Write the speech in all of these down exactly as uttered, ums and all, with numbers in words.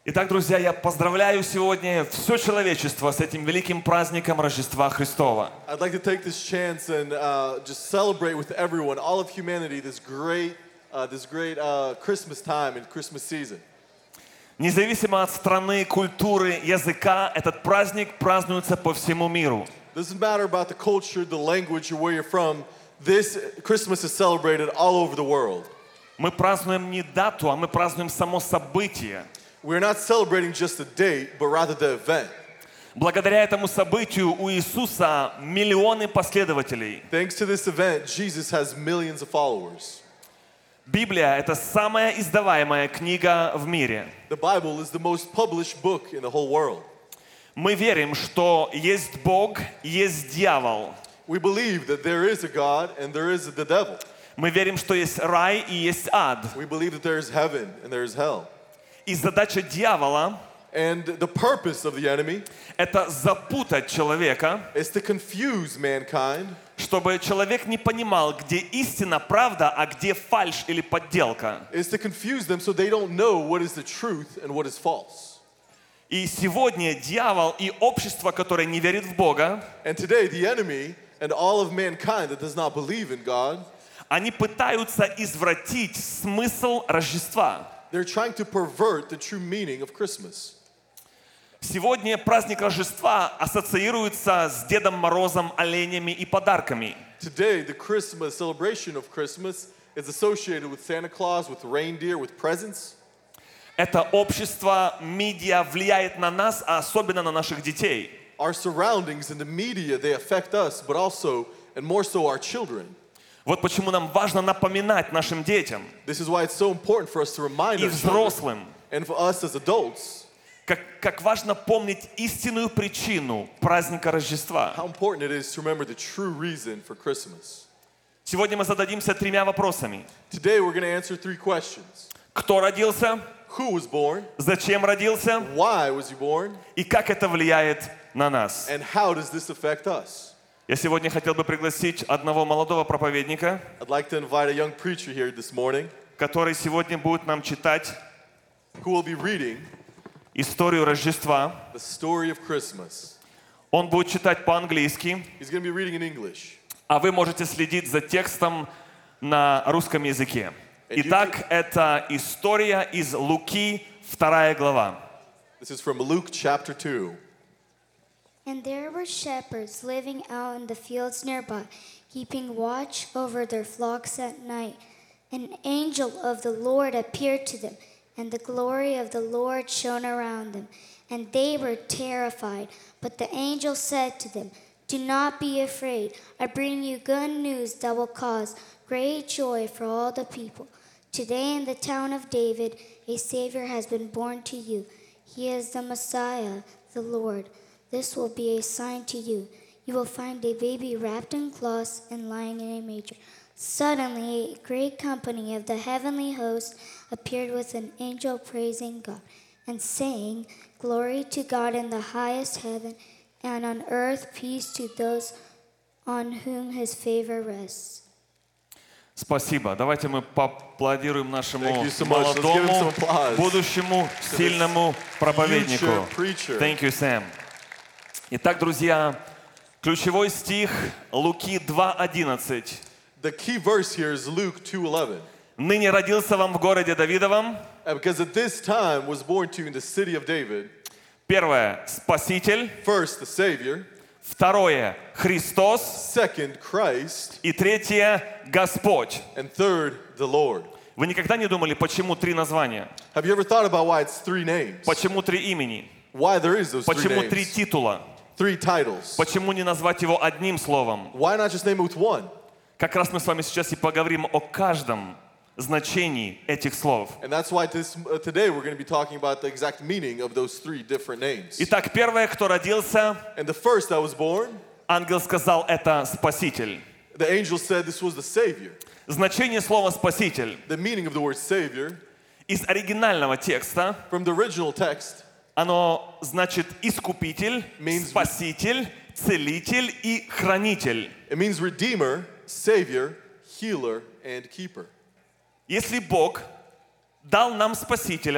Итак, друзья, я поздравляю сегодня все человечество с этим великим праздником Рождества Христова. I'd like to take this chance and uh, just celebrate with everyone, all of humanity, this great, uh, this great uh, Christmas time and Christmas season. Независимо от страны, культуры, языка, этот праздник празднуется по всему миру. Doesn't matter about the culture, the language, or where you're from. This Christmas is celebrated all over the world. Мы празднуем не дату, а мы празднуем само событие. We're not celebrating just a date, but rather the event. Благодаря этому событию у Иисуса миллионы последователей. Thanks to this event, Jesus has millions of followers. Библия – это самая издаваемая книга в мире. The Bible is the most published book in the whole world. Мы верим, что есть Бог, есть дьявол. We believe that there is a God and there is the devil. Мы верим, что есть рай и есть ад. We believe that there is heaven and there is hell. И задача дьявола And the purpose of the enemy – это запутать человека, is to confuse mankind, чтобы человек не понимал, где истина, правда, а где фальшь или подделка. is to confuse them so they don't know what is the truth and what is false. И сегодня дьявол и общество, которое не верит в Бога, And today the enemy and all of mankind that does not believe in God, они пытаются извратить смысл Рождества. they're trying to pervert the true meaning of Christmas. Сегодня праздник Рождества ассоциируется с Дедом Морозом, оленями и подарками. Today the Christmas celebration of Christmas is associated with Santa Claus, with reindeer, with presents. Это общество, медиа влияет на нас, а особенно на наших детей. Our surroundings and the media, they affect us, but also and more so our children. Вот почему нам важно напоминать нашим детям This is why it's so important for us to remind и our children взрослым, and for us as adults как, как важно помнить истинную причину праздника Рождества. how important it is to remember the true reason for Christmas. Сегодня мы зададимся тремя вопросами. Today we're going to answer three questions. Кто родился? Who was born? Зачем родился? Why was he born? И как это влияет на нас? And how does this affect us? Я сегодня хотел бы пригласить одного молодого проповедника, I'd like to invite a young preacher here this morning который сегодня будет нам читать who will be reading историю Рождества. the story of Christmas. Он будет читать по-английски, He's going to be reading in English. а вы можете следить за текстом на русском языке. Итак, это история из Луки, вторая глава. This is from Luke chapter two. And there were shepherds living out in the fields nearby, keeping watch over their flocks at night. An angel of the Lord appeared to them, and the glory of the Lord shone around them. And they were terrified. But the angel said to them, "Do not be afraid. I bring you good news that will cause great joy for all the people. Today in the town of David, a Savior has been born to you. He is the Messiah, the Lord. This will be a sign to you. You will find a baby wrapped in cloths and lying in a manger." Suddenly, a great company of the heavenly host appeared with an angel praising God and saying, "Glory to God in the highest heaven, and on earth peace to those on whom his favor rests." Спасибо. Давайте мы поаплодируем нашему Thank you so much. Let's give him some молодому, applause. будущему, сильному проповеднику. Future preacher. Thank you, Sam. Итак, друзья, ключевой стих Луки два одиннадцать. The key verse here is Luke two eleven. «Ныне родился вам в городе Давидовом». Because at this time was born to you in the city of David, Первое – Спаситель. first the Savior, Второе – Христос. second Christ, И третье – Господь. and third the Lord. Вы никогда не думали, почему три названия? Have you ever thought about why it's three names? Почему три имени? Why there is those three Почему три names? титула? Three titles. Почему не назвать его одним словом? Why not just name it with one? Как раз мы с вами сейчас и поговорим о каждом значении этих слов. And that's why this, uh, today we're going to be talking about the exact meaning of those three different names. Итак, первое, кто родился, And the first that was born, ангел сказал, это Спаситель. the angel said this was the Savior. Значение слова «спаситель» The meaning of the word Savior, из оригинального текста, from the original text, оно значит «искупитель», Means- «спаситель», «целитель» и «хранитель». it means Redeemer, Savior, Healer, and Keeper. Если Бог дал нам Спасителя,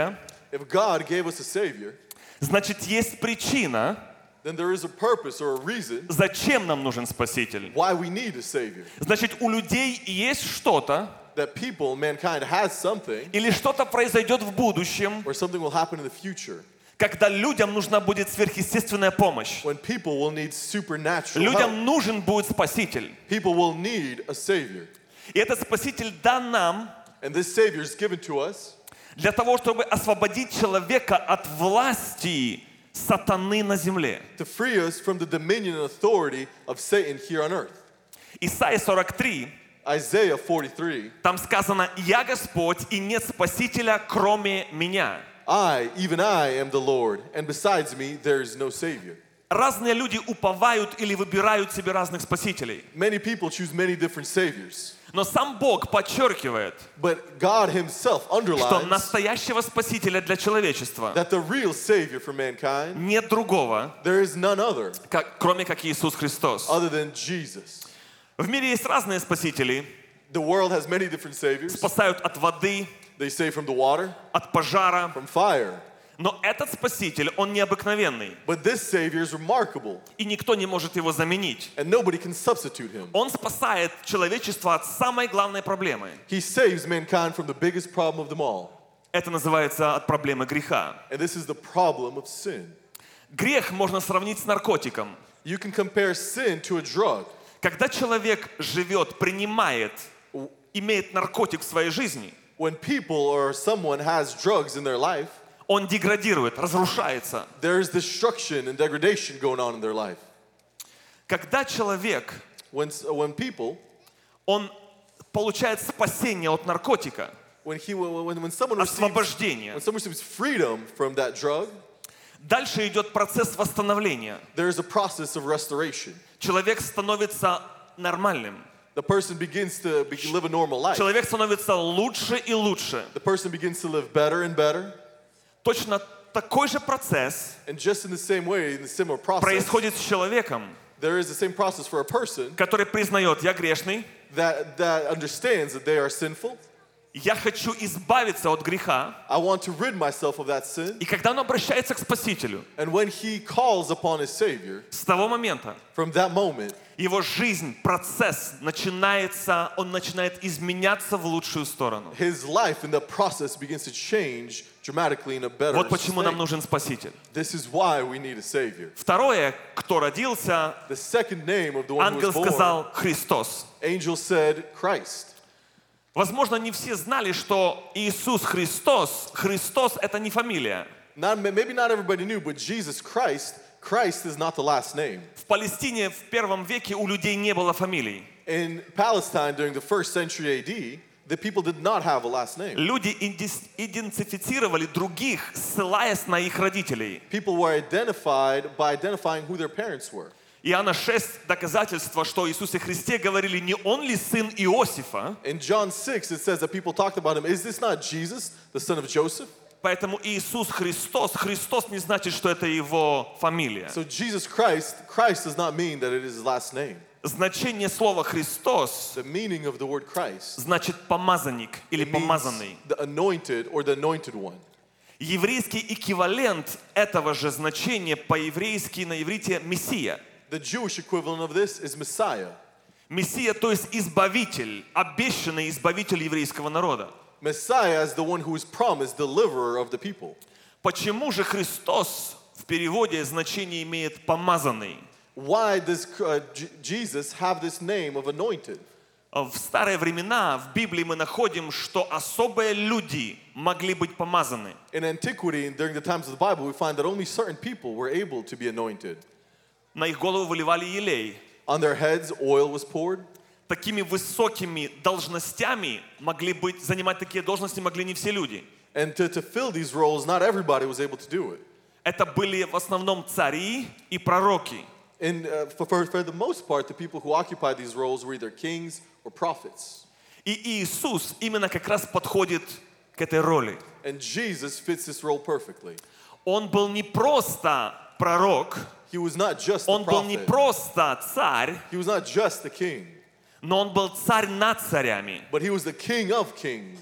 If God gave us a Savior, значит, есть причина, then there is a purpose or a reason зачем нам нужен Спаситель. why we need a Savior. Значит, у людей есть что-то, That people, mankind has something, или что-то произойдет в будущем, or something will happen in the future, когда людям нужна будет сверхъестественная помощь. when people will need supernatural Людям help. нужен будет Спаситель. People will need a Savior. И этот Спаситель дан нам And this Savior is given to us для того, чтобы освободить человека от власти сатаны на земле. to free us from the dominion and authority of Satan here on earth. Исайя сорок три, Isaiah forty-three, там сказано: «Я Господь, и нет Спасителя, кроме Меня». I, even I, am the Lord, and besides me there is no Savior. Разные люди уповают или выбирают себе разных спасителей. Many people choose many different Saviors, Но сам Бог подчеркивает, but God Himself что underlines настоящего Спасителя для человечества that the real Savior for mankind, нет другого, there is none other как, кроме как Иисус Христос. other than Jesus. В мире есть разные спасители. The world has many different Saviors. Спасают от воды, They save from the water, от пожара. from fire. Но этот Спаситель, он необыкновенный. But this Savior is remarkable, И никто не может его заменить. and nobody can substitute Him. Он спасает человечество от самой главной проблемы. He saves mankind from the biggest problem of them all, Это называется от проблемы греха. and this is the problem of sin. Грех можно сравнить с наркотиком. You can compare sin to a drug. Когда человек живет, принимает, имеет наркотик в своей жизни, When people or someone has drugs in their life, он деградирует, разрушается. there is destruction and degradation going on in their life. Когда человек, When, when people, он получает спасение от наркотика, when, he, when, when, someone receives, освобождение, when someone receives freedom from that drug, дальше идет процесс восстановления. there is a process of restoration. Человек становится нормальным. The person begins to be, live a normal life. Человек становится лучше и лучше. The person begins to live better and better. Точно такой же процесс And just in the same way, in the similar process, происходит с человеком, there is the same process for a person который признает: я грешный, that, that understands that they are sinful. я хочу избавиться от греха. I want to rid myself of that sin. И когда он обращается к Спасителю, And when he calls upon his Savior, с того момента from that moment, его жизнь, процесс начинается, он начинает изменяться в лучшую сторону. his life in the process begins to change dramatically in a better Вот почему нам state. нужен Спаситель. This is why we need a Savior. Второе, кто родился, The second name of the one who ангел was born, сказал Христос. angel said Christ. Возможно, не все знали, что Иисус Христос, Христос — это не фамилия. Not, maybe not everybody knew, but Jesus Christ, Christ is not the last name. В Палестине в первом веке у людей не было фамилий. In Palestine during the first century A D, the people did not have a last name. Люди идис- идентифицировали других, ссылаясь на их родителей. People were identified by identifying who their parents were. Иоанна шесть доказательство, что о Иисусе Христе говорили: не он ли сын Иосифа? In John six, it says that people talked about him. Is this not Jesus, the son of Joseph? Поэтому Иисус Христос, Христос не значит, что это его фамилия. So Jesus Christ, Christ does not mean that it is his last name. Значение слова Христос The meaning of the word Christ значит помазанник или it means помазанный. the anointed or the anointed one. Еврейский эквивалент этого же значения по-еврейски на иврите Мессия. The Jewish equivalent of this is Messiah. Мессия, то есть избавитель, обещанный избавитель еврейского народа. Messiah is the one who is promised deliverer of the people. Почему же Христос в переводе значение имеет помазанный? Why does uh, J- Jesus have this name of anointed? В старые времена в Библии мы находим, что особые люди могли быть помазаны. In antiquity and during the times of the Bible, we find that only certain people were able to be anointed. На их голову выливали елей. On their heads, oil was poured. Такими высокими должностями могли быть, занимать такие должности могли не все люди. And to, to fill these roles, not everybody was able to do it. Это были в основном цари и пророки. And uh, for, for, for the most part, the people who occupied these roles were either kings or prophets. И Иисус именно как раз подходит к этой роли. And Jesus fits this role perfectly. Он был не просто пророк, He was not just the он был не prophet. просто царь, He was not just the king, но он был царь над царями. but he was the king of kings.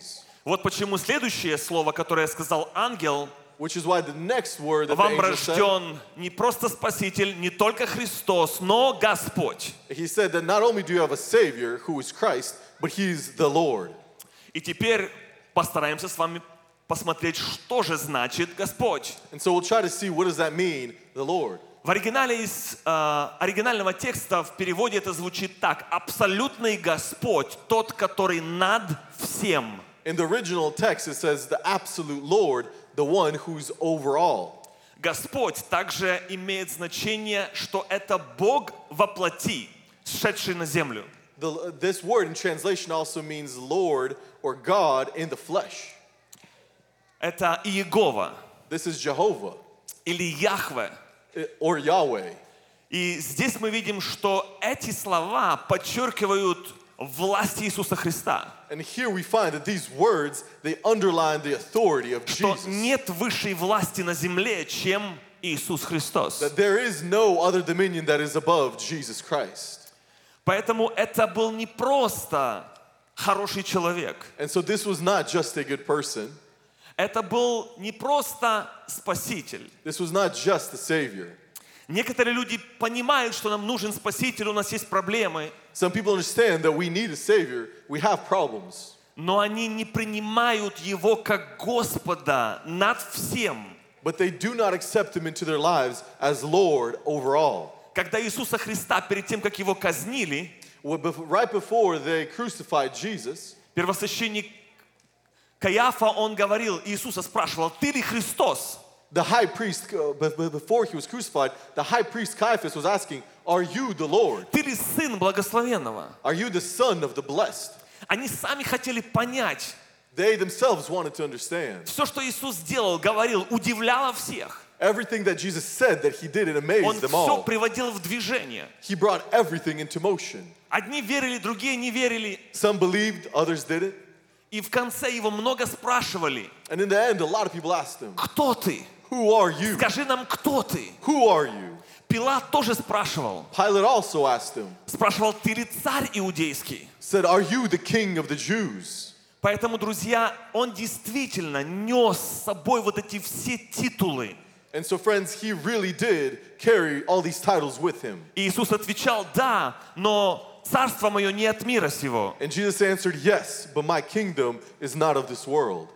Вот почему следующее слово, которое сказал ангел, which is why the next word that the вам angel said, рожден не просто Спаситель, не только Христос, но Господь. he said that not only do you have a Savior who is Christ, but He's the Lord. И теперь постараемся с вами посмотреть, что же значит Господь. And so we'll try to see what does that mean, the Lord. В оригинале из э, оригинального текста в переводе это звучит так: абсолютный Господь, тот, который над всем. In the original text, it says the absolute Lord, the one who's over all. Господь также имеет значение, что это Бог во плоти, сшедший на землю. The, this word in translation also means Lord or God in the flesh. Это Иегова This is Jehovah или Яхве. or Yahweh. И здесь мы видим, что эти слова подчеркивают власть Иисуса Христа. And here we find that these words, they underline the authority of Что Jesus. нет высшей власти на земле, чем Иисус Христос. That there is no other dominion that is above Jesus Christ. Поэтому это был не просто хороший человек. And so this was not just a good person. Это был не просто Спаситель. This was not just a Savior. Некоторые люди понимают, что нам нужен Спаситель, у нас есть проблемы, Some people understand that we need a Savior. We have problems. но они не принимают Его как Господа над всем. But they do not accept Him into their lives as Lord over all. Когда Иисуса Христа, перед тем, как Его казнили, Well, bef- Right before they crucified Jesus, первосвященник Каиафа, он говорил, Иисуса спрашивал: «Ты ли Христос?» the high priest, uh, be- be- before He was crucified, the high priest Caiaphas was asking, are you the Lord? «Ты ли Сын Благословенного?» Are you the Son of the Blessed? Они сами хотели понять. They themselves wanted to understand. Все, что Иисус делал, говорил, удивляло всех. Everything that Jesus said that He did, it Он amazed them все all. приводил в движение. He brought everything into motion. Одни верили, другие не верили. Some believed, others didn't. И в конце его много спрашивали: And in the end, a lot of people asked Him, «Кто ты? who are you? Скажи нам, кто ты?» Who are you? Пилат тоже спрашивал. Pilate also asked Him, Спрашивал: «Ты ли царь иудейский?» said, are you the king of the Jews? Поэтому, друзья, он действительно нес с собой вот эти все титулы. And so, friends, He really did carry all these titles with Him. И Иисус отвечал: «Да, но царство мое не от мира сего». And Jesus answered, yes, but my kingdom is not of this world.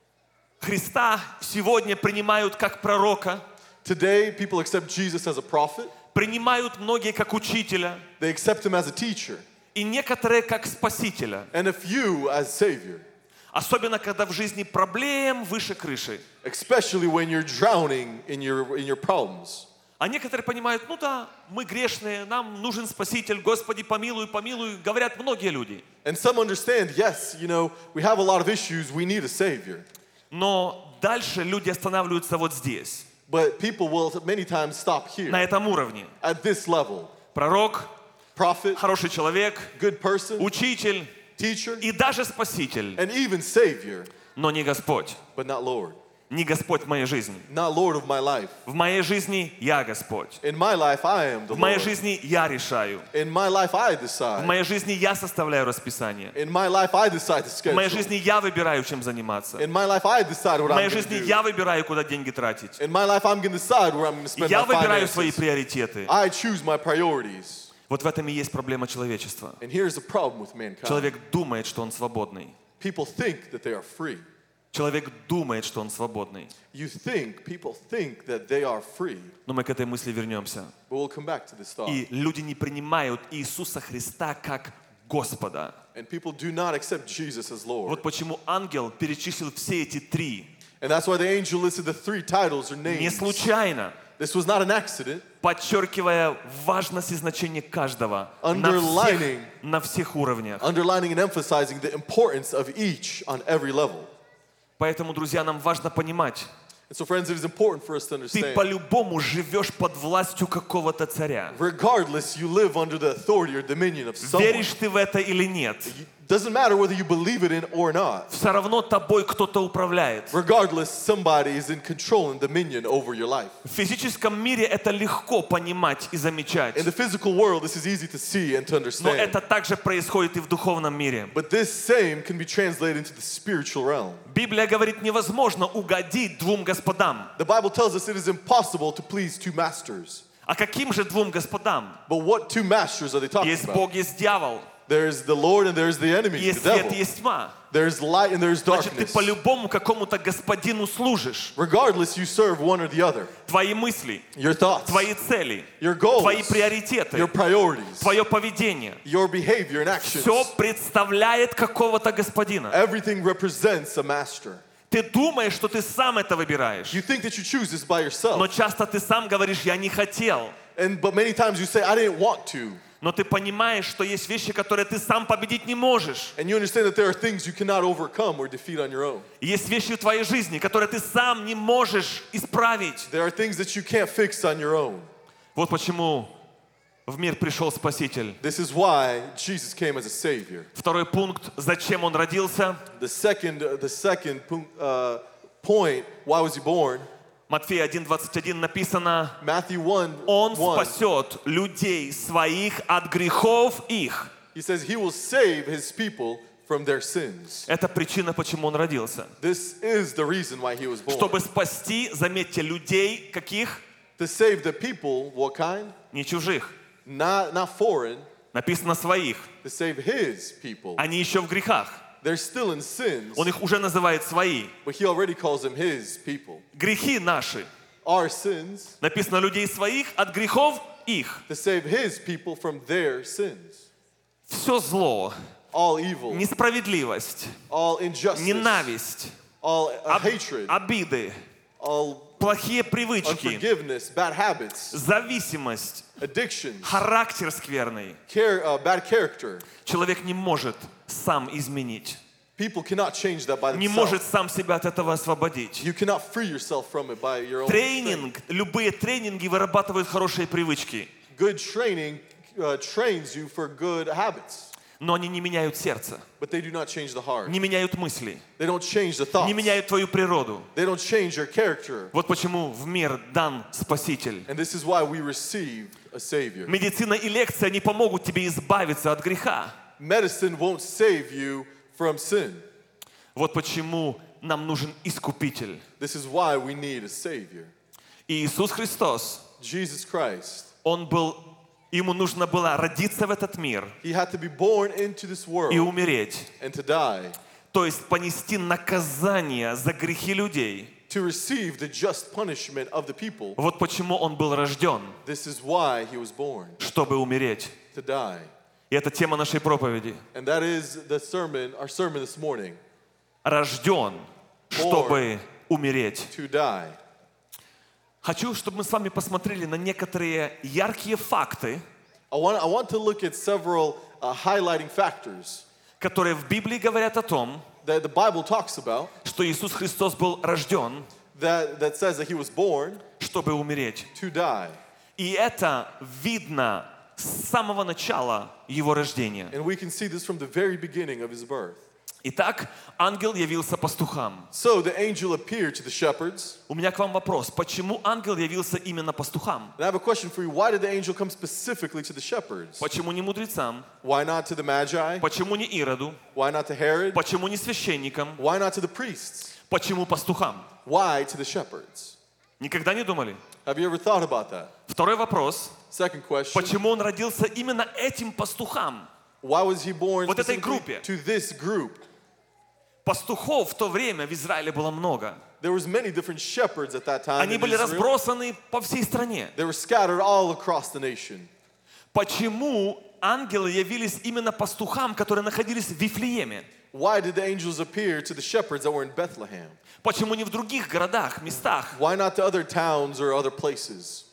Христа сегодня принимают как пророка, Today, people accept Jesus as a prophet. принимают многие как учителя, They accept Him as a teacher. и некоторые как спасителя. And a few as Savior. Особенно, когда в жизни проблем выше крыши. Especially when you're drowning in your, in your problems. А некоторые понимают: ну да, мы грешные, нам нужен Спаситель, Господи, помилуй, помилуй, говорят многие люди. And some understand, yes, you know, we have a lot of issues, we need a Savior. Но дальше люди останавливаются вот здесь, But people will many times stop here, на этом уровне. at this level. Пророк, Prophet, хороший человек, good person, учитель teacher, и даже Спаситель, and even Savior, но не Господь. but not Lord. Не Господь в моей жизни. Not Lord of my life. В моей жизни я Господь. In my life, I am the В моей Lord. жизни я решаю. In my life, I В decide. моей жизни я составляю расписание. In my life, I decide the В моей schedule. жизни я выбираю, чем заниматься. In my life, I decide what В I'm моей going to жизни do. я выбираю, куда деньги тратить. In my life, I'm going to decide where I'm going to spend Я my выбираю свои finances. приоритеты. I choose my priorities. Вот в этом и есть проблема человечества. And here's the problem with mankind. Человек думает, что он свободный. People think that they are free. Человек думает, что он свободный. You think, people think that they are free. Но мы к этой мысли вернемся. But we'll come back to this thought. И люди не принимают Иисуса Христа как Господа. And people do not accept Jesus as Lord. Вот почему ангел перечислил все эти три. And that's why the angel listed the three titles or Не names. случайно, This was not an accident. подчеркивая важность и значение каждого на всех, Underlining. на всех уровнях. Underlining and emphasizing the importance of each on every level. Поэтому, друзья, нам важно понимать, And so, friends, it is important for us to ты understand. по-любому живешь под властью какого-то царя. Regardless, you live under the authority or dominion of someone. Веришь ты в это или нет? Doesn't matter whether you believe it in or not. Все равно тобой кто-то управляет. Regardless, somebody is in control and dominion over your life. В физическом мире это легко понимать и замечать. In the physical world, this is easy to see and to Но understand. это также происходит и в духовном мире. But this same can be translated into the spiritual realm. Библия говорит, невозможно угодить двум господам. The Bible tells us it is impossible to please two masters. А каким же двум господам? But what two masters are they talking Есть about? Бог, есть дьявол. There's the Lord and there's the enemy, Есть the свет, devil. есть тьма. There's light and there's Значит, ты darkness. по-любому какому-то господину служишь. Regardless, you serve one or the other. Твои мысли, Your thoughts, твои цели, your goals, твои приоритеты, your priorities, твое поведение. your behavior and actions. Все представляет какого-то господина. Everything represents a master. Ты думаешь, что ты сам это выбираешь. You think that you choose this by Но yourself. часто ты сам говоришь, я не хотел. And but many times you say, I didn't want to. Но ты понимаешь, что есть вещи, которые ты сам победить не можешь. And you understand that there are things you cannot overcome or defeat on your own. И есть вещи в твоей жизни, которые ты сам не можешь исправить. There are things that you can't fix on your own. Вот почему в мир пришел Спаситель. This is why Jesus came as a savior. Второй пункт, зачем он родился. The second, uh, the second uh, point, why was he born? Матфея один двадцать один написано, Matthew one, он one. спасет людей своих от грехов их. He says he will save his people from their sins. Это причина, почему он родился. This is the reason why he was born. Чтобы спасти, заметьте, людей каких? To save the people, what kind? Не чужих. Not, not foreign, Написано своих. to save his people. Они еще в грехах. They're still in sins, Он их уже называет свои. but he already calls them his people. Грехи наши. Our sins, Написано людей своих от грехов их. to save his people from their sins. Все зло, All evil, несправедливость, all injustice, ненависть, all uh, об- hatred, обиды, all плохие привычки, unforgiveness, bad habits, зависимость, addictions, характер скверный. care, uh, bad character. Человек не может сам изменить. People cannot change that by Не themselves. может сам себя от этого освободить. You cannot free yourself from it by your own strength. Тренинг, любые тренинги вырабатывают хорошие привычки, Good training uh, trains you for good habits, но они не меняют сердце, but they do not change the heart. не меняют мысли, They don't change the thoughts. не меняют твою природу. They don't change your character. Вот почему в мир дан Спаситель. And this is why we receive a Savior. Медицина и лекция не помогут тебе избавиться от греха. Medicine won't save you from sin. Вот почему нам нужен Искупитель. This is why we need a Savior. И Иисус Христос, Jesus Christ. Он был, ему нужно было родиться в этот мир He had to be born into this и world умереть. and to die, То есть понести наказание за грехи людей. to receive the just punishment of the people. Вот почему Он был рожден, This is why he was born, чтобы умереть. to die. И это тема нашей проповеди. And that is the sermon, our sermon this morning, Рожден, чтобы умереть. to die. Хочу, чтобы мы с вами посмотрели на некоторые яркие факты, I want, I want to look at several uh, highlighting factors которые в Библии говорят о том, that the Bible talks about что Иисус Христос был рожден, that, that says that he was born чтобы умереть. to die. И это видно с самого начала Его рождения. And we can see this from the very beginning of his birth. Итак, ангел явился пастухам. So the angel appeared to the shepherds. У меня к вам вопрос. Почему ангел явился именно пастухам? And I have a question for you. Why did the angel come specifically to the shepherds? Почему не мудрецам? Why not to the Magi? Почему не Ироду? Why not to Herod? Почему не священникам? Why not to the priests? Почему пастухам? Why to the shepherds? Никогда не думали? Have you ever thought about that? Второй вопрос. Second question. Почему он родился именно этим пастухам? Why was he born Вот этой specifically группе. to this group? Пастухов в то время в Израиле было много. There was many different shepherds at that time Они in были Israel. разбросаны по всей стране. They were scattered all across the nation. Почему ангелы явились именно пастухам, которые находились в Вифлееме? Why did the angels appear to the shepherds that were in Bethlehem? Почему не в других городах, местах? Why not to other towns or other places?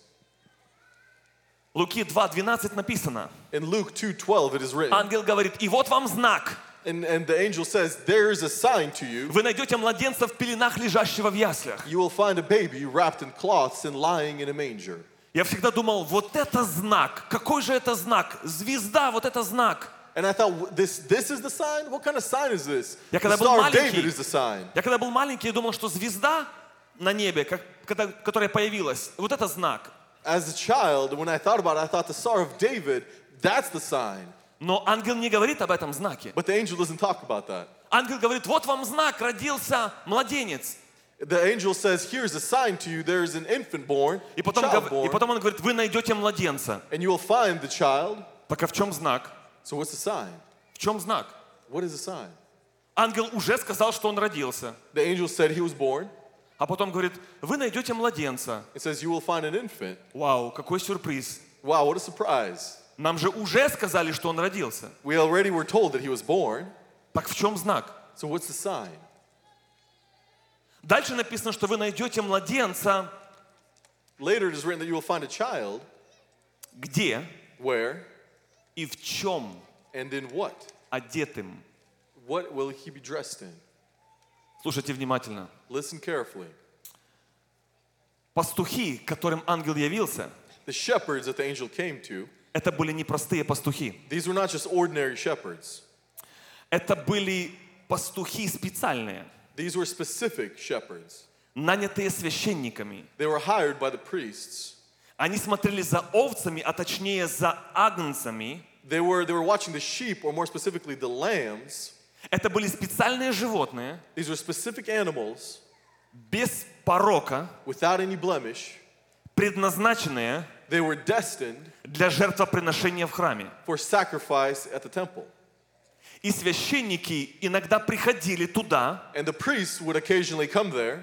Луки два двенадцать написано. In Luke two twelve it is written, Ангел говорит, и вот вам знак. and, and the angel says, there is a sign to you. Вы найдете младенца в пеленах, лежащего в яслях. You will find a baby wrapped in cloths and lying in a manger. Я всегда думал, вот это знак. Какой же это знак? Звезда, вот это знак. And I thought, this, this is the sign? What kind of sign is this? Я The когда был Star of David маленький, is the sign. я когда был маленький, я думал, что звезда на небе, как, когда, которая появилась, вот это знак. As a child, when I thought about it, I thought the Star of David, that's the sign. Но ангел не говорит об этом знаке. But the angel doesn't talk about that. Ангел говорит, вот вам знак, родился младенец. The angel says, here's a sign to you, there's an infant born, И a потом, child гов- и born, потом он говорит, вы найдете младенца. and you will find the child. Так а в чем знак? So what's the sign? В чем знак? What is the sign? Ангел уже сказал, что он родился. The angel said he was born. А потом говорит, вы найдете младенца. It says, you will find an infant. Вау, какой сюрприз. Wow, what a surprise. Нам же уже сказали, что он родился. We already were told that he was born. Так в чем знак? So what's the sign? Дальше написано, что вы найдете младенца. Later it is written that you will find a child. Где Where и в чем and in what? одетым? What will he be dressed in? Слушайте внимательно. Listen carefully. Пастухи, к которым ангел явился, The shepherds that the angel came to, это были не простые пастухи. these were not just ordinary shepherds. Это были пастухи специальные, These were specific shepherds. нанятые священниками. They were hired by the priests. Они смотрели за овцами, а точнее за агнцами. They were, they were watching the sheep, or more specifically the lambs. Это были специальные животные, These were specific animals без порока, without any blemish. предназначенные They were destined для жертвоприношения в храме. for sacrifice at the temple. И священники иногда приходили туда And the priests would occasionally come there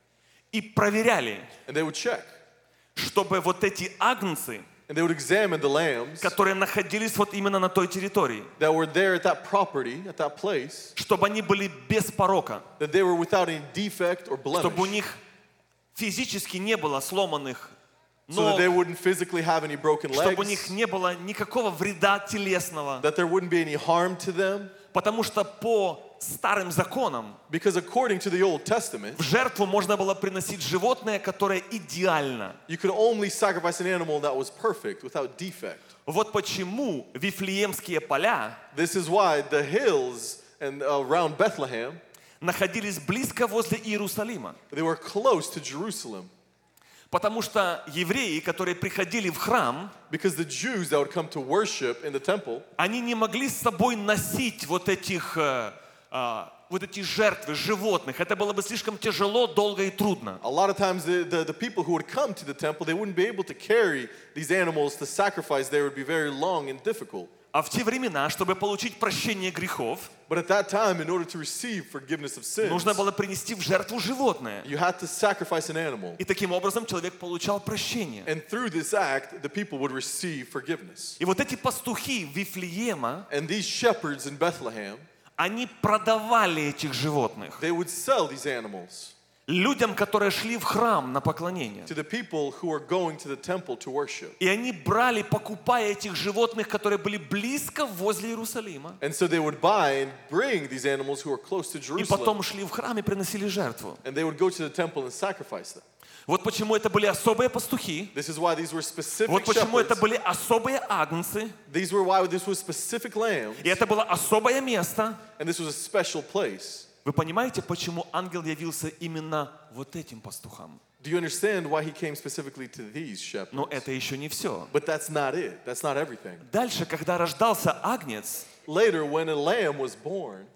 и проверяли, and they would check. чтобы вот эти агнцы, And they would examine the lambs которые находились вот именно на той территории, that were there at that property, at that place, чтобы они были без порока, that they were without any defect or чтобы у blemish, них физически не было сломанных so that ног, they wouldn't physically have any broken чтобы у них legs, не было никакого вреда телесного. that there wouldn't be any harm to them. Потому что по старым законам Because according to the Old Testament, в жертву можно было приносить животное, которое идеально. you could only sacrifice an animal that was perfect, without defect. Вот почему Вифлеемские поля This is why the hills and uh, around Bethlehem, находились близко возле Иерусалима. they were close to Jerusalem. Потому что евреи, которые приходили в храм, Because the Jews that would come to worship in the temple, они не могли с собой носить вот этих, э, э, вот эти жертвы животных. Это было бы слишком тяжело, долго и трудно. a lot of times the, the, the people who would come to the temple, they wouldn't be able to carry these animals to sacrifice. They would be very long and difficult. А в те времена, чтобы получить прощение грехов, But at that time, in order to receive forgiveness of sins, нужно было принести в жертву животное. you had to sacrifice an animal. И таким образом человек получал прощение. And through this act, the people would receive forgiveness. И вот эти пастухи Вифлеема, And these shepherds in Bethlehem, они продавали этих животных they would sell these animals людям, которые шли в храм на поклонение. to the people who are going to the temple to worship. И они брали, покупая этих животных, которые были близко возле Иерусалима. And so they would buy and bring these animals who are close to И Jerusalem. потом шли в храм и приносили жертву. And they would go to the temple and sacrifice them. Вот почему это были особые пастухи. This is why these were specific Вот почему это shepherds. были особые агнцы. These were why this was specific lambs. И это было особое место. And this was a special place. Вы понимаете, почему ангел явился именно вот этим пастухам? Do you understand why he came specifically to these shepherds? Но это еще не все. But that's not it. That's not everything. Дальше, когда рождался агнец, Later, when a lamb was born,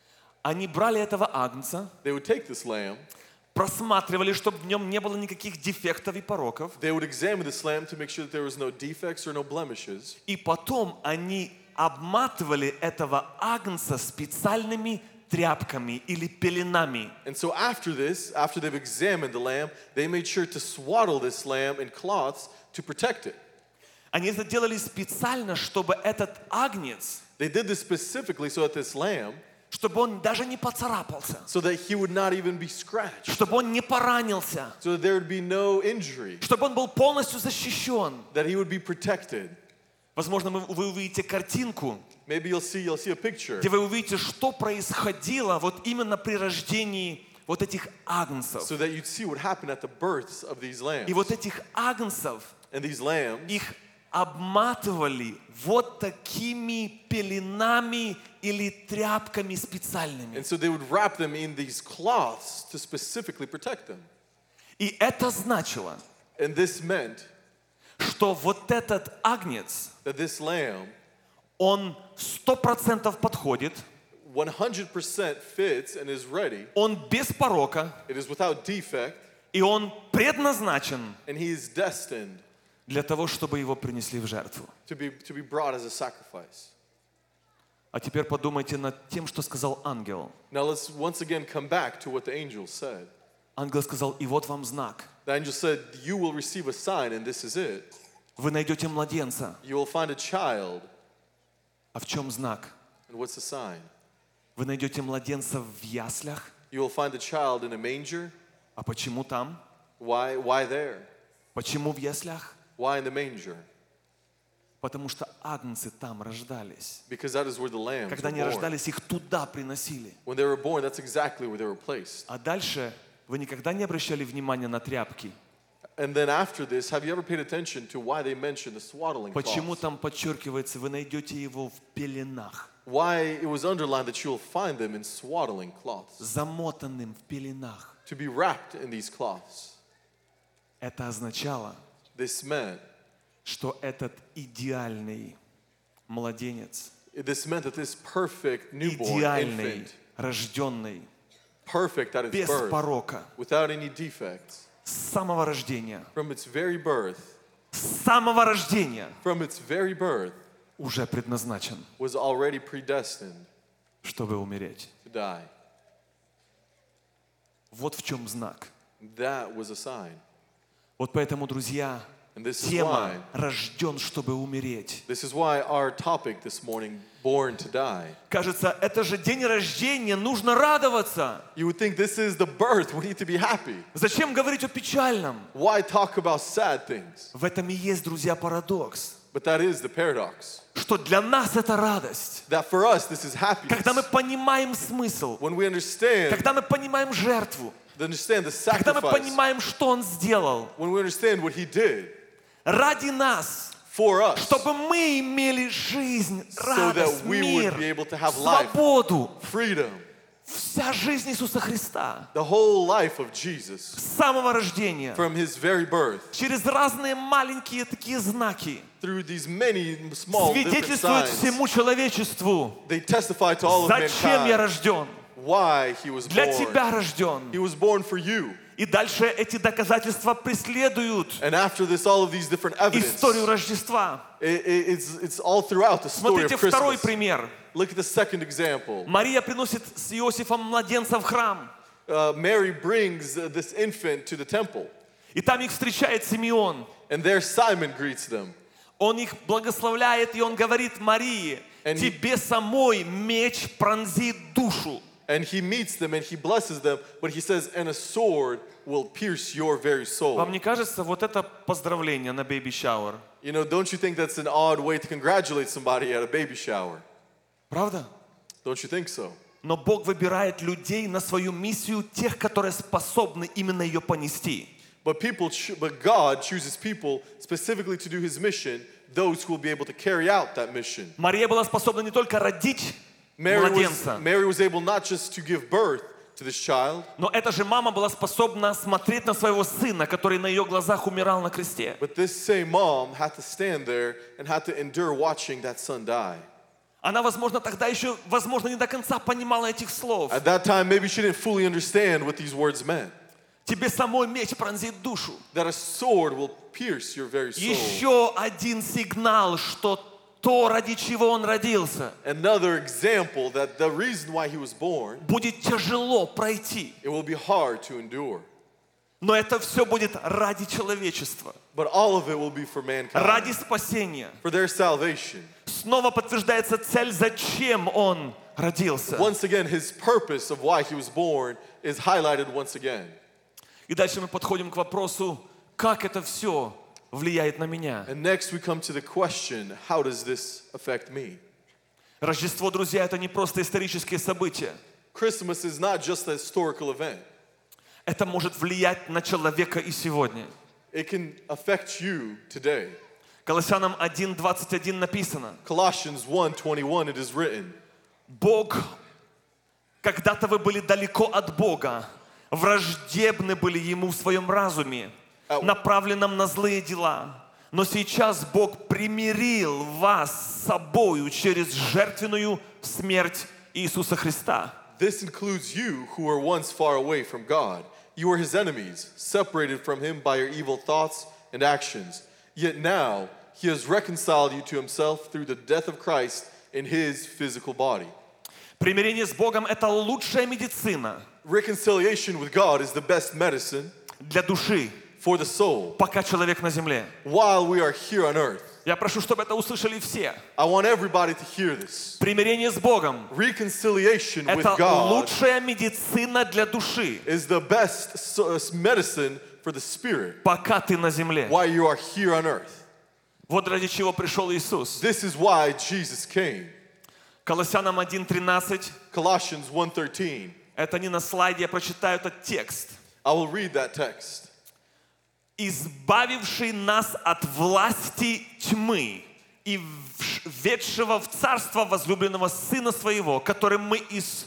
они брали этого агнца, they would take this lamb, просматривали, чтобы в нем не было никаких дефектов и пороков. they would examine this lamb to make sure that there was no defects or no blemishes. И потом они обматывали этого агнца специальными тряпками или пеленами. And so after this, after they've examined the lamb, they made sure to swaddle this lamb in cloths to protect it. Они это делали специально, чтобы этот агнец, They did this specifically so that this lamb, чтобы он даже не поцарапался, so that he would not even be scratched, чтобы он не поранился, so that there would be no injury, чтобы он был полностью защищен. that he would be protected. Возможно, вы, вы увидите картинку, Maybe you'll see, you'll see a picture где вы увидите, что происходило вот именно при рождении вот этих агнцев. so that you'd see what happened at the births of these lambs. И вот этих агнцев, And these lambs, их обматывали вот такими пеленами или тряпками специальными. And so they would wrap them in these cloths to specifically protect them. И это значило, And this meant что вот этот агнец, that this lamb он сто процентов подходит, one hundred percent fits and is ready. он без порока, It is without defect, и он предназначен and he is destined для того, чтобы его принесли в жертву. to be, to be brought as a sacrifice. А теперь подумайте над тем, что сказал ангел. Now let's once again come back to what the angel said. Ангел сказал, и вот вам знак. The angel said, you will receive a sign, and this is it. Вы найдете младенца. You will find a child. А в чем знак? And what's the sign? Вы найдете младенца в яслях. You will find a child in a manger. А почему там? Why, why there? Почему в яслях? Why in the manger? Потому что агнцы там рождались. Because that is where the lambs Когда were они born. рождались, их туда приносили. When they were born, that's exactly where they were placed. А дальше вы никогда не обращали внимания на тряпки? And then after this, have you ever paid attention to why they mentioned the swaddling Почему cloths? там подчеркивается, вы найдете его в пеленах, Why it was underlined that you will find them in swaddling cloths, замотанным в пеленах? to be wrapped in these cloths. Это означало, This meant, что этот идеальный младенец, this meant that this perfect newborn идеальный, infant, рожденный, perfect at its без birth, порока, without any defects, с самого рождения, from its very birth, с самого рождения from its very birth, уже предназначен, was already predestined чтобы умереть. to die. Вот в чем знак. That was a sign. Вот поэтому, друзья, And this is тема why, «Рожден, чтобы умереть». this is why our topic this morning, born to die. Кажется, это же день рождения, нужно радоваться. You would think this is the birth, we need to be happy. Зачем говорить о печальном? Why talk about sad things? В этом и есть, друзья, парадокс. But that is the paradox. Что для нас это радость. That for us, this is Когда мы happiness. понимаем смысл, When we understand, когда мы понимаем жертву, understand the когда мы sacrifice, понимаем, что Он сделал when we understand what he did ради нас, for us, чтобы мы имели жизнь, so that радость, we мир, would be able to have life, свободу. freedom, Вся жизнь Иисуса Христа the whole life of Jesus, с самого рождения, from his very birth, через разные маленькие такие знаки, through these many small different свидетельствует signs, всему человечеству, they testify to all of зачем я mankind рожден, why he was для born. тебя рожден. He was born for you. И дальше эти доказательства преследуют And after this, all of these different evidence, историю Рождества. it, it, it's, it's all throughout the story Смотрите of второй Christmas. пример. Look at the second example. Мария приносит с Иосифом младенца в храм. Uh, Mary brings uh, this infant to the temple, И там их встречает Симеон. and there Simon greets them. Он их благословляет, и он говорит Марии, And he- тебе самой меч пронзит душу. And he meets them and he blesses them, but he says, and a sword will pierce your very soul. Вам не кажется, вот это поздравление на бэйби-шауэр? You know, don't you think that's an odd way to congratulate somebody at a baby shower? Правда? Don't you think so? Но Бог выбирает людей на свою миссию, тех, которые способны именно ее понести. But people, cho- but God chooses people specifically to do his mission, those who will be able to carry out that mission. Мария была способна не только родить Mary was, младенца, Mary was able not just to give birth to this child, но эта же мама была способна смотреть на своего сына, который на ее глазах умирал на кресте. but this same mom had to stand there and had to endure watching that son die. Она, возможно, тогда еще, возможно, не до конца понимала этих слов. At that time, maybe she didn't fully understand what these words meant. Тебе самой меч пронзит душу. That a sword will pierce your very soul. Еще один сигнал, что то, ради чего он родился, Another example that the reason why he was born, будет тяжело пройти. it will be hard to endure. Но это все будет ради человечества, But all of it will be for mankind, ради спасения. for their salvation. Снова подтверждается цель, зачем он родился. Once again, his purpose of why he was born is highlighted once again. И дальше мы подходим к вопросу, как это все влияет на меня. And next we come to the question, how does this affect me? Рождество, друзья, это не просто исторические события. Christmas is not just a historical event. Это может влиять на человека и сегодня. It can affect you today. Колоссянам один двадцать один написано: Colossians one twenty-one, it is written, Бог, когда-то вы были далеко от Бога, враждебны были Ему в своем разуме, направленном на злые дела. Но сейчас Бог примирил вас с собою через жертвенную смерть Иисуса Христа. This includes you who were once far away from God. You were His enemies, separated from Him by your evil thoughts and actions. Yet now He has reconciled you to Himself through the death of Christ in His physical body. Примирение с Богом – это лучшая медицина Reconciliation with God is the best medicine для души, for the soul пока человек на земле. while we are here on earth. Я прошу, чтобы это услышали все. I want everybody to hear this. Примирение с Богом Reconciliation – with это God лучшая медицина для души, is the best so- medicine for the spirit пока ты на земле. while you are here on earth. Вот ради чего пришел Иисус. This is why Jesus came. Колоссянам один тринадцать. Colossians one thirteen. Это не на слайде, я прочитаю этот текст. I will read that text. «Избавивший нас от власти тьмы и введшего в царство возлюбленного Сына Своего, которым мы из,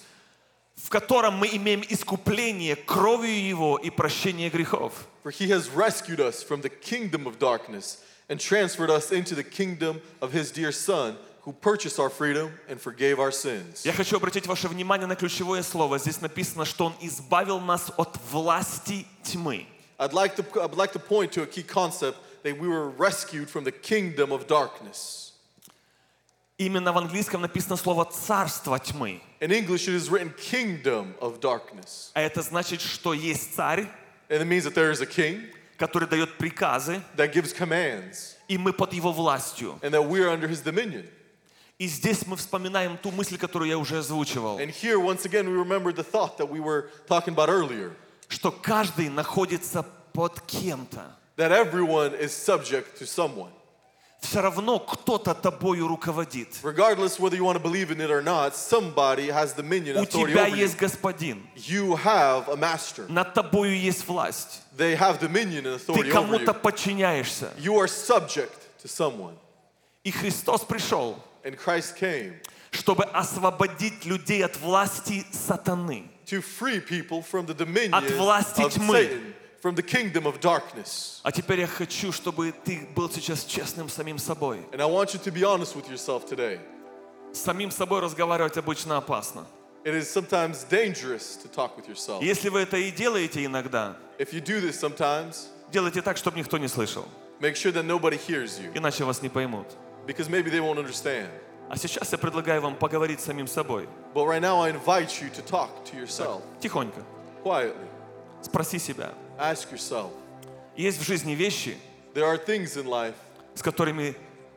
в котором мы имеем искупление кровью Его и прощение грехов». For He has rescued us from the kingdom of darkness and transferred us into the kingdom of His dear Son, who purchased our freedom and forgave our sins. Я хочу обратить ваше внимание на ключевое слово. Здесь написано, что Он избавил нас от власти тьмы. I'd like to I'd like to point to a key concept that we were rescued from the kingdom of darkness. Именно в английском написано слово «царство тьмы». In English, it is written kingdom of darkness. А это значит, что есть царь, And it means that there is a king который дает приказы, that gives commands и мы под его властью. and that we are under His dominion. И здесь мы вспоминаем ту мысль, которую я уже озвучивал, And here, once again, we remember the thought that we were talking about earlier, что каждый находится под кем-то. that everyone is subject to someone. Все равно кто-то тобою руководит. Regardless whether you want to believe in it or not, somebody has dominion У and authority тебя over you. есть господин. You have a master. Над тобою есть власть. They have dominion and Ты authority over кому-то you. подчиняешься. You are subject to someone. И Христос пришел, And Christ came чтобы освободить людей от власти сатаны. to free people from the dominion От власти of тьмы. Satan, from the kingdom of darkness. А теперь я хочу, чтобы ты был сейчас честным с самим собой. And I want you to be honest with yourself today. С самим собой разговаривать обычно опасно. It is sometimes dangerous to talk with yourself. Если вы это и делаете иногда, If you do this sometimes, делайте так, чтобы никто не слышал. make sure that nobody hears you, Иначе вас не поймут. because maybe they won't understand. А сейчас я предлагаю вам поговорить с самим собой. But right now I invite you to talk to yourself Тихонько. quietly. Спроси себя. Ask yourself, Есть в жизни вещи, there are things in life с которыми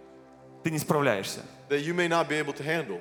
ты не справляешься, that you may not be able to handle,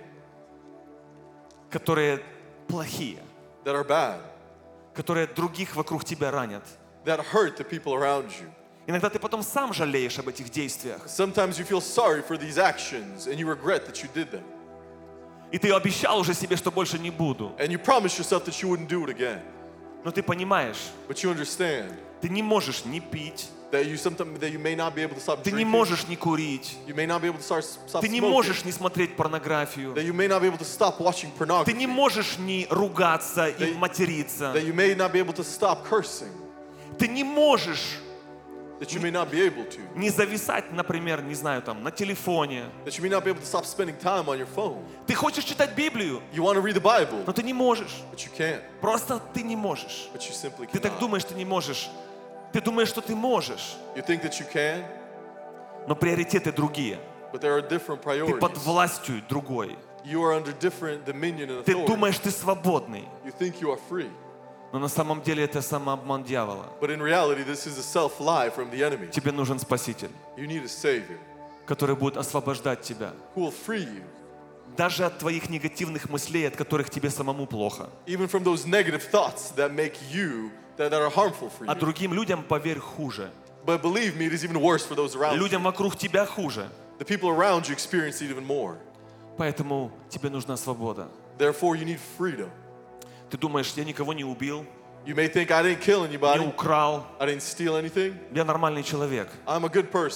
которые плохие, that are bad, которые других вокруг тебя ранят. that hurt the people around you. Иногда ты потом сам жалеешь об этих действиях. Sometimes you feel sorry for these actions and you regret that you did them. И ты обещал уже себе, что больше не буду. And you promise yourself that you wouldn't do it again. Но ты понимаешь, But you understand ты не можешь не пить, that you sometimes that you may not be able to stop ты не drinking. можешь не курить, You may not be able to start stop ты не smoking. можешь не смотреть порнографию, That you may not be able to stop watching ты pornography. не можешь не ругаться и Ты- материться, That you may not be able to stop cursing. ты не можешь That you may not be able to. не зависать, например, не знаю, там, на телефоне. That you may not be able to stop spending time on your phone. Ты хочешь читать Библию, You want to read the Bible, но ты не можешь. but you can't. Просто ты не можешь. But you simply Ты так cannot. думаешь, ты не можешь. Ты думаешь, что ты можешь, You think that you can, но приоритеты другие. but there are different Ты под priorities. властью другой. You are under different dominion and Ты authority. думаешь, ты свободный, You think you are free. но на самом деле это самообман дьявола. But in reality, this is a self-lie from the enemy. Тебе нужен Спаситель, You need a Savior который будет освобождать тебя. who will free you, Даже от твоих негативных мыслей, от которых тебе самому плохо. even from those negative thoughts that make you, that, that are harmful for А you. другим людям, поверь, хуже. But believe me, it is even worse for those around you. Людям вокруг тебя хуже. The people around you experience it even more. Поэтому тебе нужна свобода. Therefore, you need freedom. Ты думаешь, я никого не убил, You may think, I didn't kill не anybody, украл, I didn't steal anything, я нормальный человек. I'm a good person.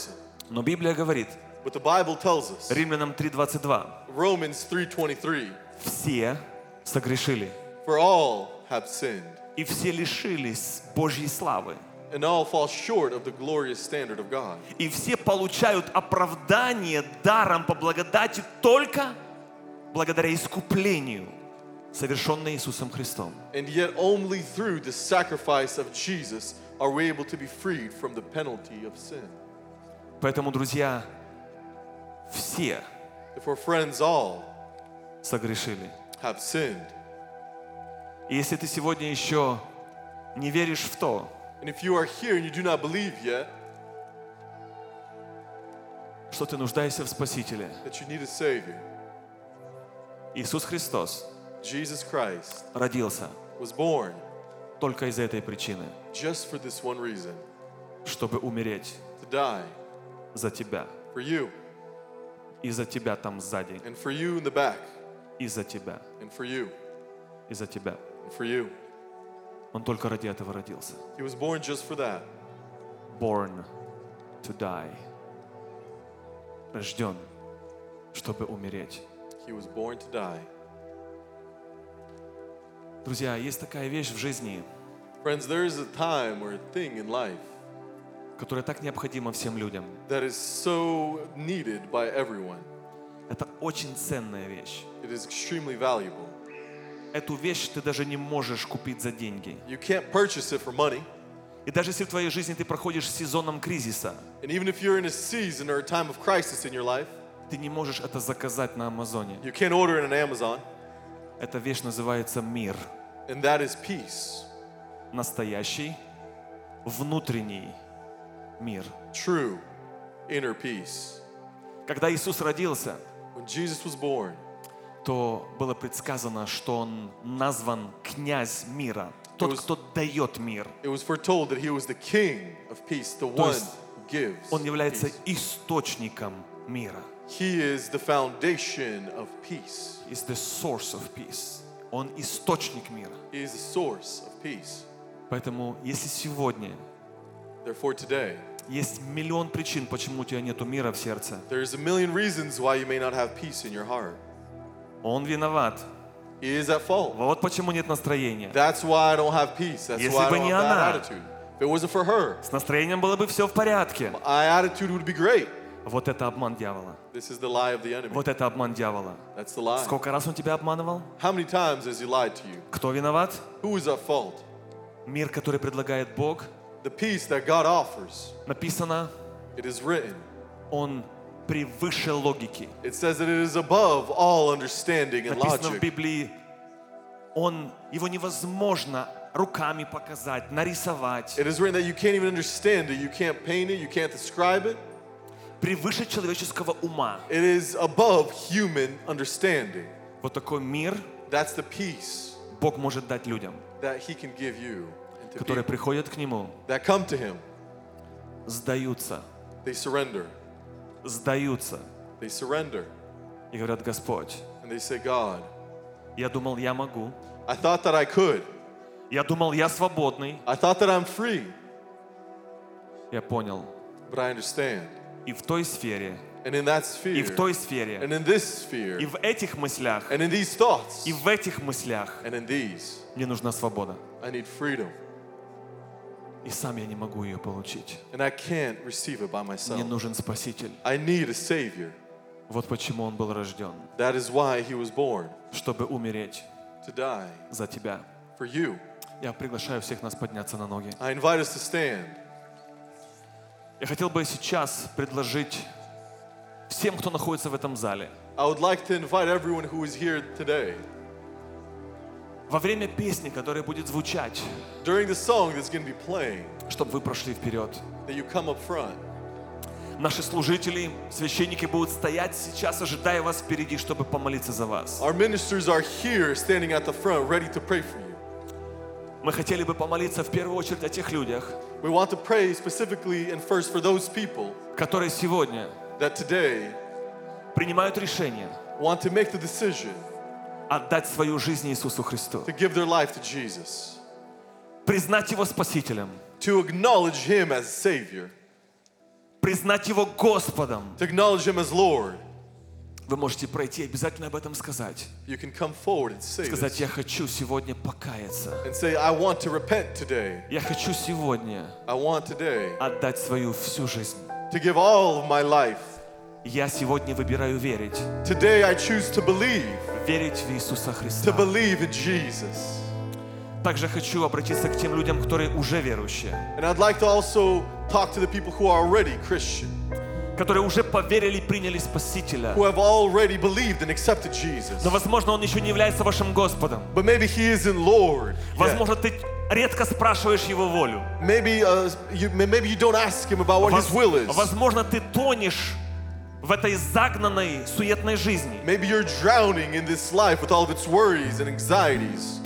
Но Библия говорит, But the Bible tells us, Римлянам три двадцать два, Romans three twenty-three, все согрешили, for all have sinned, и все лишились Божьей славы. and all fall short of the glorious standard of God. И все получают оправдание даром по благодати только благодаря искуплению, совершенное Иисусом Христом. And yet only through the sacrifice of Jesus are we able to be freed from the penalty of sin. Поэтому, друзья, все Therefore, friends, all согрешили. have sinned. И если ты сегодня еще не веришь в то, And if you are here and you do not believe yet что ты нуждаешься в Спасителе, that you need a Savior, Иисус Христос Jesus Christ родился was born только из этой причины, just for this one reason, чтобы умереть to die за тебя, for you, и за тебя там сзади, and for you in the back, и за тебя, and for you, и за тебя. and for you. Он только ради этого родился. He was born just for that. Born to die. Рожден, чтобы умереть. He was born to die. Друзья, есть такая вещь в жизни, Friends, there is a time or a thing in life которая так необходима всем людям. that is so needed by everyone. Это очень ценная вещь. It is extremely valuable. Эту вещь ты даже не можешь купить за деньги. You can't purchase it for money. И даже если в твоей жизни ты проходишь сезоном кризиса, And even if you're in a season or a time of crisis in your life, ты не можешь это заказать на Амазоне. you can't order it on Amazon. Эта вещь называется мир. And that is peace. Настоящий, внутренний мир. True inner peace. Когда Иисус родился, When Jesus was born, то было предсказано, что Он назван князь мира. Тот, was- кто дает мир. it was foretold that he was the king of peace, the То one есть who gives Он является peace. источником мира. He is the foundation of peace. Is the source of peace. Он источник мира. He is the source of peace. Поэтому, если сегодня Therefore, today, есть миллион причин, почему у тебя нету мира в сердце, there's a million reasons why you may not have peace in your heart. Он виноват. He is at fault. Вот почему нет настроения. That's why I don't have peace. That's Если why I бы don't не have она. that attitude. If it wasn't for her, С настроением было бы все в порядке. my attitude would be great. Вот это обман дьявола. This is the lie of the enemy. Вот это обман дьявола. That's the lie. Сколько раз он тебя обманывал? How many times has he lied to you? Кто виноват? Who is at fault? Мир, который предлагает Бог, The peace that God offers, написано, it is written. он превыше логики. It says that it is above all understanding and Написано в logic. Библии, он, его невозможно руками показать, нарисовать. It is written that you can't even understand it, you can't paint it, you can't describe it. Превыше человеческого ума. It is above human understanding. Вот такой мир That's the peace Бог может дать людям, that he can give you and to которые people приходят к Нему, that come to him. сдаются, They surrender. сдаются They surrender. и говорят: Господь, And they say, God, я думал, я могу. I thought that I could. Я думал, я свободный. I thought that I'm free. Я понял. But I understand. И в той сфере, And in that и sphere, в той сфере, and in this sphere, и в этих мыслях, and in these thoughts, и в этих мыслях and in these, мне нужна свобода. I need freedom. И сам я не могу ее получить. And I can't receive it by Мне myself. нужен Спаситель. I need a Savior. Вот почему Он был рожден. That is why he was born, Чтобы умереть to die за тебя. for you. Я приглашаю всех нас подняться на ноги. I invite us to stand. Я хотел бы сейчас предложить всем, кто находится в этом зале, I would like to invite everyone who is here today, во время песни, которая будет звучать, during the song that's going to be playing, чтобы вы прошли вперед. that you come up front. Наши служители, священники будут стоять сейчас, ожидая вас впереди, чтобы помолиться за вас. Our ministers are here standing at the front ready to pray for you. Мы хотели бы помолиться в первую очередь о тех людях, We want to pray specifically and first for those people которые сегодня that today принимают решение want to make the decision отдать свою жизнь Иисусу Христу, to give their life to Jesus, признать Его Спасителем, to acknowledge Him as Savior, признать Его Господом, to acknowledge Him as Lord, вы можете пройти и обязательно об этом сказать. you can come forward and say Сказать, this. я хочу сегодня покаяться. And say, I want to repent today. Я хочу сегодня I want today отдать свою всю жизнь. to give all of my life. Я сегодня выбираю верить. Today I choose to believe, Верить в Иисуса to Христа. believe in Jesus. Также хочу обратиться к тем людям, которые уже верующие, And I'd like to also talk to the people who are already Christian, которые уже поверили и приняли Спасителя. who have already believed and accepted Jesus. Но, возможно, Он еще не является вашим Господом. But maybe He isn't Lord yet. Возможно, ты редко спрашиваешь Его волю. Maybe, uh, you, maybe you don't ask Him about what His will is. Возможно, ты тонешь в этой загнанной, суетной жизни. Maybe you're drowning in this life with all of its worries and anxieties.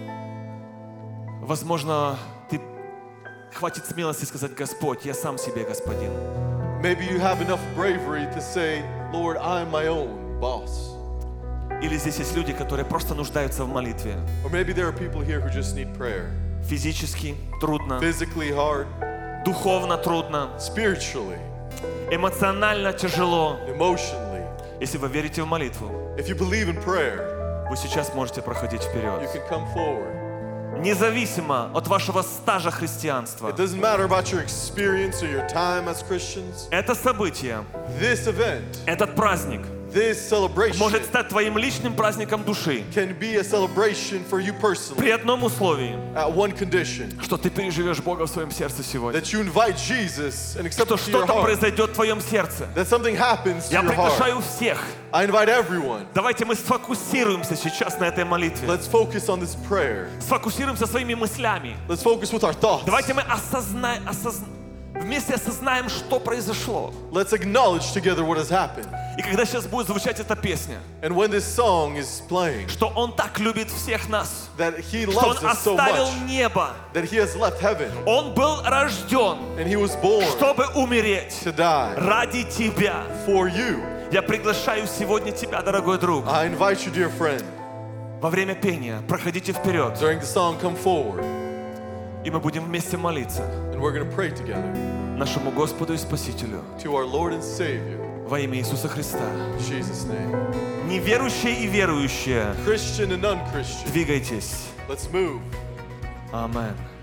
Возможно, ты хватит смелости сказать: Господь, я сам себе господин. Maybe you have enough bravery to say, Lord, I'm my own boss. Или здесь есть люди, которые просто нуждаются в молитве. Or maybe there are people here who just need prayer. Физически трудно, Physically hard, духовно трудно, spiritually, эмоционально тяжело. emotionally. Если вы верите в молитву, If you believe in prayer, вы сейчас можете проходить you вперед. can come forward. Независимо от вашего стажа христианства, It doesn't matter about your experience or your time as Christians. это событие, This event, этот праздник this celebration может стать твоим личным праздником души can be a celebration for you personally при одном условии, at one condition, что ты переживешь Бога в своем сердце сегодня. that you invite Jesus and accept Что Him to your что-то heart, произойдет в твоем сердце. that something happens to Я your heart. приглашаю всех. I invite everyone. Давайте мы сфокусируемся сейчас на этой молитве. Let's focus on this prayer. Сфокусируемся своими мыслями. Let's focus with our thoughts. Давайте мы осознаем, осозн... вместе осознаем, что произошло. Let's acknowledge together what has happened. И когда сейчас будет звучать эта песня, And when this song is playing, что Он так любит всех нас, that He что Он loves us so оставил much, небо. that He has left heaven, Он был рожден, and He was born чтобы умереть to die ради тебя. for you. Я приглашаю сегодня тебя, дорогой друг. I invite you, dear friend, Во время пения проходите вперед, during the song, come forward, и мы будем вместе молиться and we're going to pray together нашему Господу и Спасителю to our Lord and Savior, во имя Иисуса Христа. in Jesus' name. Неверующие и верующие, Christian and non-Christian, двигайтесь. let's move. Аминь.